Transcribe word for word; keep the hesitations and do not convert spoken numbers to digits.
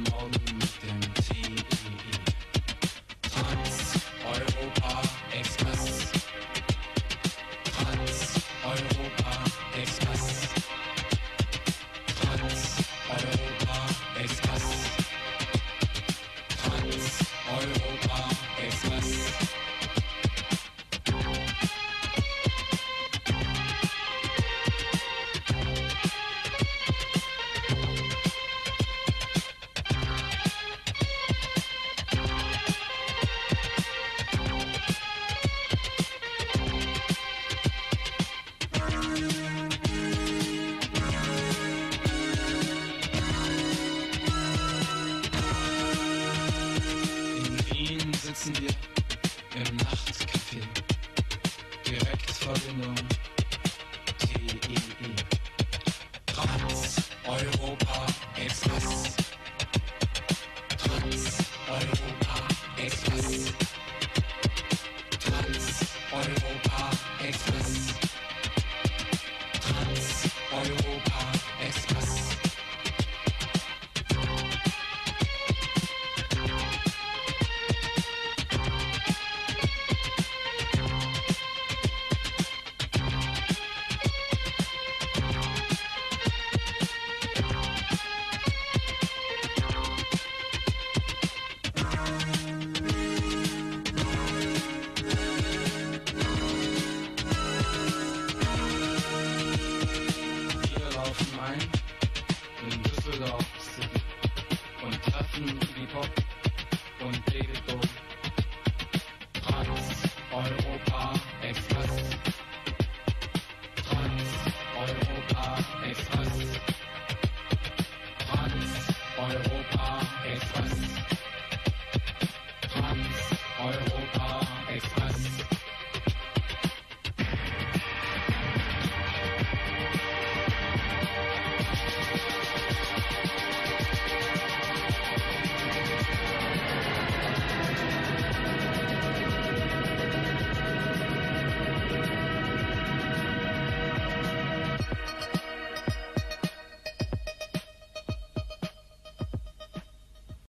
Morgen mit dem T E E. Trans Europa Express. Trans Europa Express. Trans Europa Express. Trans Europa Express. Sitzen wir im Nachtcafé, Direktverbindung T E E. Trans Europa Express. Trans Europa Express. Trans Europa Express. Trans Europa Express. In Düsseldorf City und treffen Bebop und David Bowie. Trans Europa Express. Trans Europa Express. Trans Europa Express.